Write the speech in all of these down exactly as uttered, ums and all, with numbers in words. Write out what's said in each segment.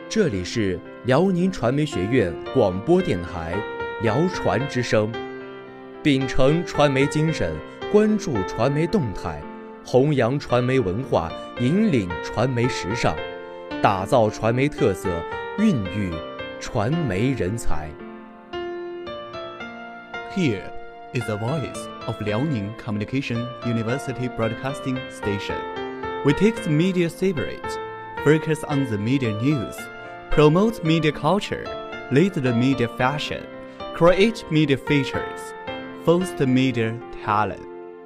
这里是辽宁传媒学院广播电台辽传之声，秉承传媒精神，关注传媒动态，弘扬传媒文化，引领传媒时尚，打造传媒特色，孕育传媒人才。 Here is the voice of Liaoning Communication University Broadcasting Station. We take the media spirit, focus on the media news, promote media culture, lead the media fashion, create media features, foster media talent.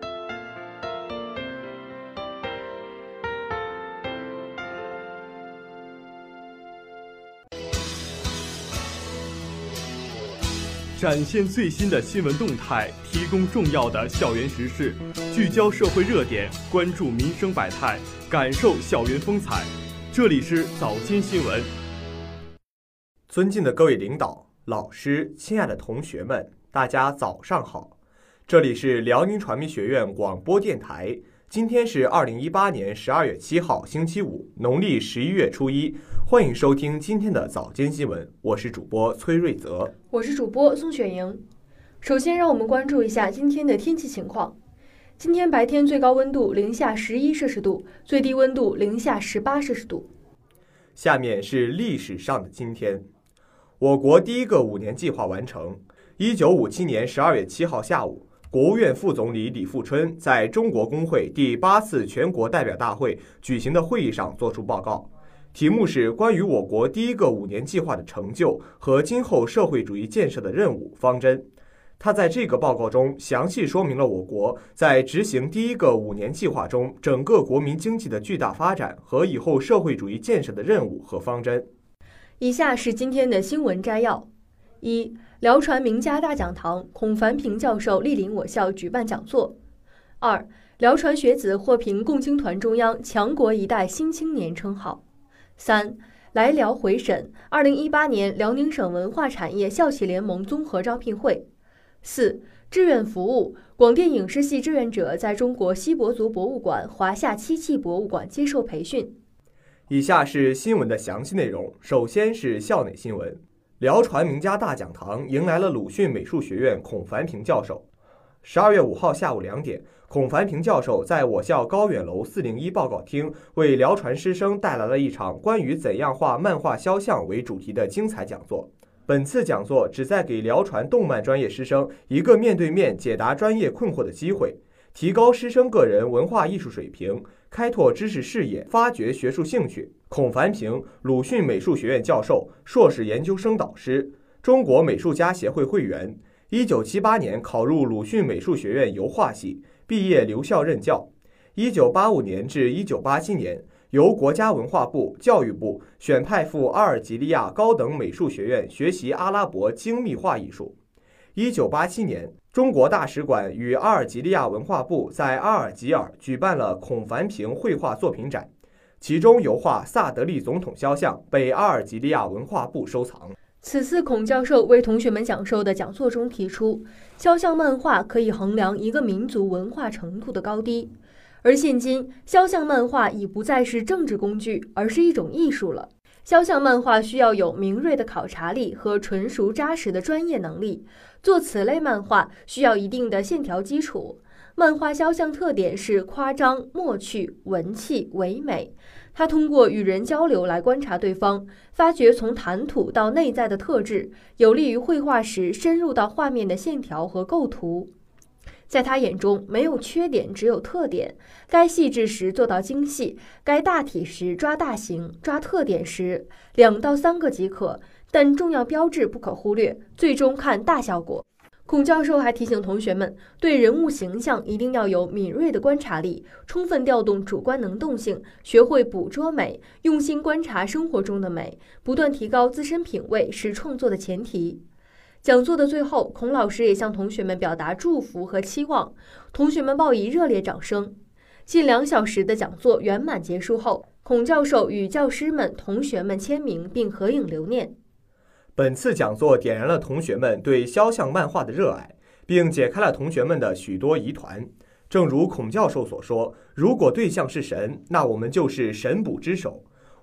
展现最新的新闻动态，提供重要的校园时事，聚焦社会热点，关注民生百态，感受校园风采。这里是早间新闻。 尊敬的各位领导、老师、亲爱的同学们，大家早上好！这里是辽宁传媒学院广播电台。今天是二零一八年十二月七号，星期五，农历十一月初一。欢迎收听今天的早间新闻，我是主播崔瑞泽， 我是主播宋雪莹。首先，让我们关注一下今天的天气情况。今天白天最高温度零下十一摄氏度，最低温度零下十八摄氏度。 下面是历史上的今天，我国第一个五年计划完成。一九五七年十二月七号下午，国务院副总理李富春在中国工会第八次全国代表大会举行的会议上作出报告。题目是关于我国第一个五年计划的成就和今后社会主义建设的任务方针。他在这个报告中详细说明了我国在执行第一个五年计划中整个国民经济的巨大发展和以后社会主义建设的任务和方针。 以下是今天的新闻摘要：一、辽传名家大讲堂，孔繁平教授莅临我校举办讲座；二、辽传学子获评共青团中央强国一代新青年称号。三、来辽回审二零一八年辽宁省文化产业校企联盟综合招聘会。四、志愿服务，广电影视系志愿者在中国锡伯族博物馆、华夏漆器博物馆接受培训。 以下是新闻的详细内容。首先是校内新闻，辽传名家大讲堂迎来了鲁迅美术学院孔繁平教授。十二月五号下午两点，孔繁平教授在我校高远楼四零一报告厅为辽传师生带来了一场关于怎样画漫画肖像为主题的精彩讲座。本次讲座旨在给辽传动漫专业师生一个面对面解答专业困惑的机会，提高师生个人文化艺术水平，开拓知识视野，发掘学术兴趣。孔繁平，鲁迅美术学院教授，硕士研究生导师，中国美术家协会会员。一九七八年考入鲁迅美术学院油画系，毕业留校任教。一九八五年至一九八七年，由国家文化部、教育部选派赴阿尔及利亚高等美术学院学习阿拉伯精密画艺术。一九八七年，中国大使馆与阿尔及利亚文化部在阿尔及尔举办了孔繁平绘画作品展，其中油画萨德利总统肖像被阿尔及利亚文化部收藏。 此次孔教授为同学们讲授的讲座中提出，肖像漫画可以衡量一个民族文化程度的高低，而现今肖像漫画已不再是政治工具，而是一种艺术了。肖像漫画需要有敏锐的考察力和纯熟扎实的专业能力，做此类漫画需要一定的线条基础。漫画肖像特点是夸张、默趣、文气、唯美。他通过与人交流来观察对方，发掘从谈吐到内在的特质，有利于绘画时深入到画面的线条和构图。在他眼中，没有缺点，只有特点。该细致时做到精细，该大体时抓大形，抓特点时两到三个即可，但重要标志不可忽略，最终看大效果。孔教授还提醒同学们，对人物形象一定要有敏锐的观察力，充分调动主观能动性，学会捕捉美，用心观察生活中的美，不断提高自身品味是创作的前提。讲座的最后，孔老师也向同学们表达祝福和期望，同学们报以热烈掌声。近两小时的讲座圆满结束后，孔教授与教师们、同学们签名并合影留念。 本次讲座点燃了同学们对肖像漫画的热爱，并解开了同学们的许多疑团。正如孔教授所说，如果对象是神，那我们就是神捕之手。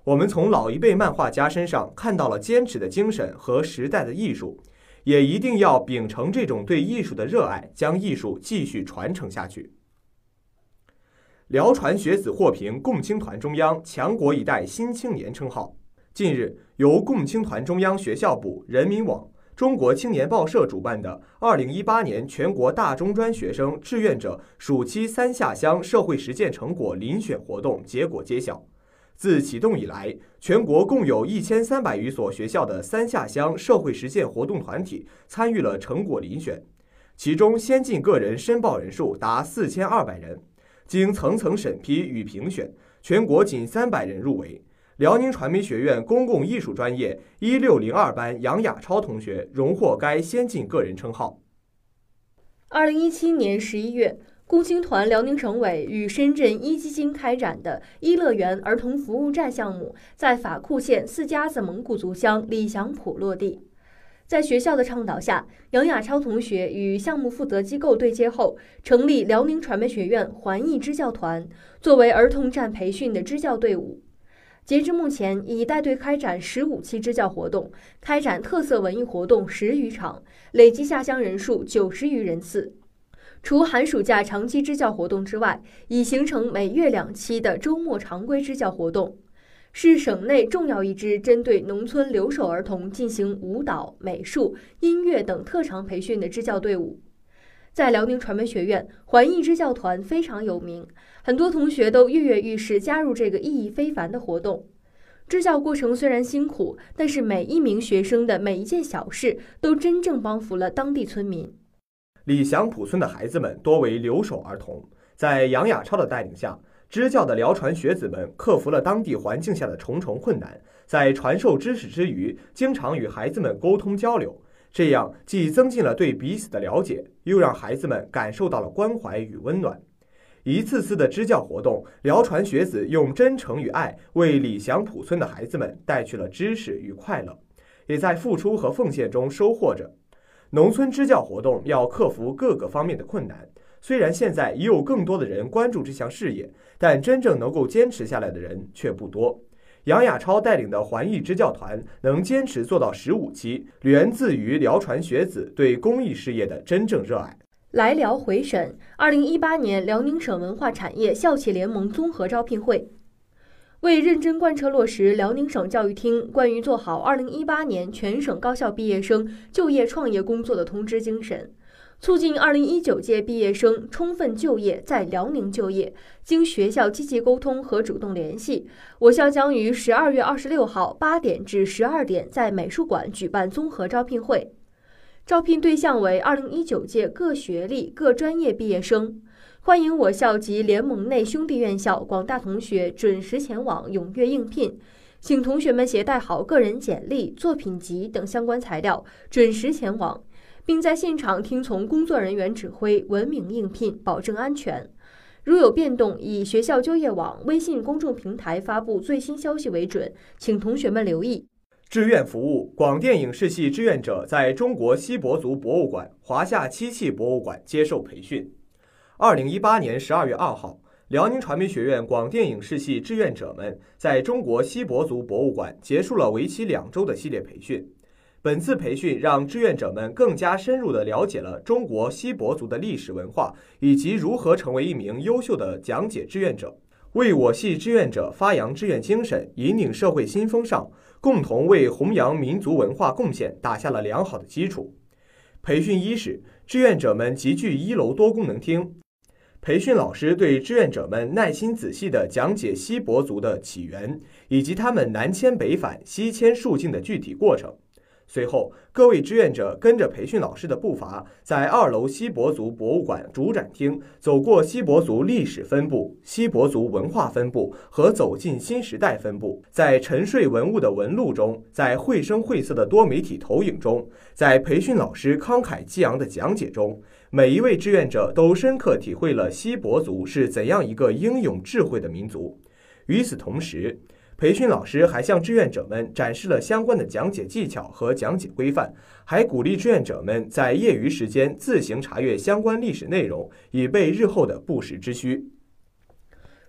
我们从老一辈漫画家身上看到了坚持的精神和时代的艺术，也一定要秉承这种对艺术的热爱，将艺术继续传承下去。辽传学子获评共青团中央强国一代新青年称号。近日，由共青团中央学校部、人民网、中国青年报社主办的二零一八年全国大中专学生志愿者暑期三下乡社会实践成果遴选活动结果揭晓。自启动以来，全国共有一千三百余所学校的三下乡社会实践活动团体参与了成果遴选，其中先进个人申报人数达四千二百人，经层层审批与评选，全国仅三百人入围。辽宁传媒学院公共艺术专业一六零二班杨雅超同学荣获该先进个人称号。 二零一七年十一月，共青团辽宁省委与深圳一基金开展的一乐园儿童服务站项目在法库县四家子蒙古族乡李祥普落地。在学校的倡导下，杨雅超同学与项目负责机构对接后，成立辽宁传媒学院环艺支教团，作为儿童站培训的支教队伍。截至目前，已带队开展十五期支教活动，开展特色文艺活动十余场，累计下乡人数九十余人次。除寒暑假长期支教活动之外，已形成每月两期的周末常规支教活动，是省内重要一支针对农村留守儿童进行舞蹈、美术、音乐等特长培训的支教队伍。在辽宁传媒学院，环艺支教团非常有名，很多同学都跃跃欲试加入这个意义非凡的活动。支教过程虽然辛苦，但是每一名学生的每一件小事都真正帮扶了当地村民。 李祥普村的孩子们多为留守儿童，在杨雅超的带领下，支教的辽传学子们克服了当地环境下的重重困难，在传授知识之余，经常与孩子们沟通交流，这样既增进了对彼此的了解，又让孩子们感受到了关怀与温暖。一次次的支教活动，辽传学子用真诚与爱为李祥普村的孩子们带去了知识与快乐，也在付出和奉献中收获着。农村支教活动要克服各个方面的困难，虽然现在已有更多的人关注这项事业，但真正能够坚持下来的人却不多。杨雅超带领的环艺支教团能坚持做到十五期，源自于辽传学子对公益事业的真正热爱。 来辽回沈，二零一八年辽宁省文化产业校企联盟综合招聘会。为认真贯彻落实辽宁省教育厅关于做好二零一八年全省高校毕业生就业创业工作的通知精神，促进二零一九届毕业生充分就业，在辽宁就业，经学校积极沟通和主动联系，我校将于十二月二十六号八点至十二点在美术馆举办综合招聘会。招聘对象为二零一九届各学历、各专业毕业生，欢迎我校及联盟内兄弟院校广大同学准时前往踊跃应聘，请同学们携带好个人简历、作品集等相关材料，准时前往，并在现场听从工作人员指挥，文明应聘，保证安全。如有变动，以学校就业网微信公众平台发布最新消息为准，请同学们留意。 志愿服务，广电影视系志愿者在中国锡伯族博物馆、华夏漆器博物馆接受培训。二零一八年十二月二号，辽宁传媒学院广电影视系志愿者们在中国锡伯族博物馆结束了为期两周的系列培训。本次培训让志愿者们更加深入地了解了中国锡伯族的历史文化，以及如何成为一名优秀的讲解志愿者，为我系志愿者发扬志愿精神，引领社会新风尚，共同为弘扬民族文化贡献打下了良好的基础。培训伊始，志愿者们集聚一楼多功能厅，培训老师对志愿者们耐心仔细地讲解锡伯族的起源，以及他们南迁北返、西迁戍境的具体过程。随后，各位志愿者跟着培训老师的步伐，在二楼锡伯族博物馆主展厅走过锡伯族历史分部、锡伯族文化分部和走进新时代分部，在沉睡文物的纹路中，在绘声绘色的多媒体投影中，在培训老师慷慨激昂的讲解中，每一位志愿者都深刻体会了锡伯族是怎样一个英勇智慧的民族。与此同时，培训老师还向志愿者们展示了相关的讲解技巧和讲解规范，还鼓励志愿者们在业余时间自行查阅相关历史内容，以备日后的不时之需。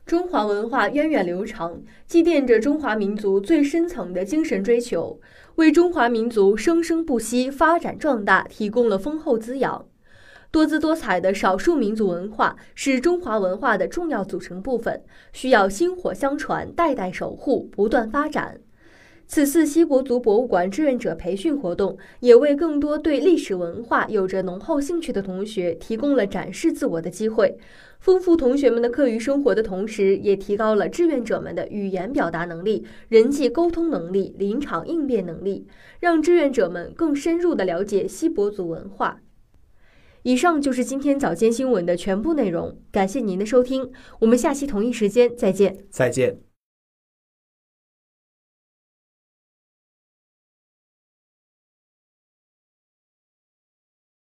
中华文化源远流长，积淀着中华民族最深层的精神追求，为中华民族生生不息、发展壮大提供了丰厚滋养。多姿多彩的少数民族文化是中华文化的重要组成部分，需要薪火相传、代代守护、不断发展。此次锡伯族博物馆志愿者培训活动，也为更多对历史文化有着浓厚兴趣的同学提供了展示自我的机会，丰富同学们的课余生活的同时，也提高了志愿者们的语言表达能力、人际沟通能力、临场应变能力，让志愿者们更深入地了解锡伯族文化。以上就是今天早间新闻的全部内容，感谢您的收听，我们下期同一时间再见。 再见。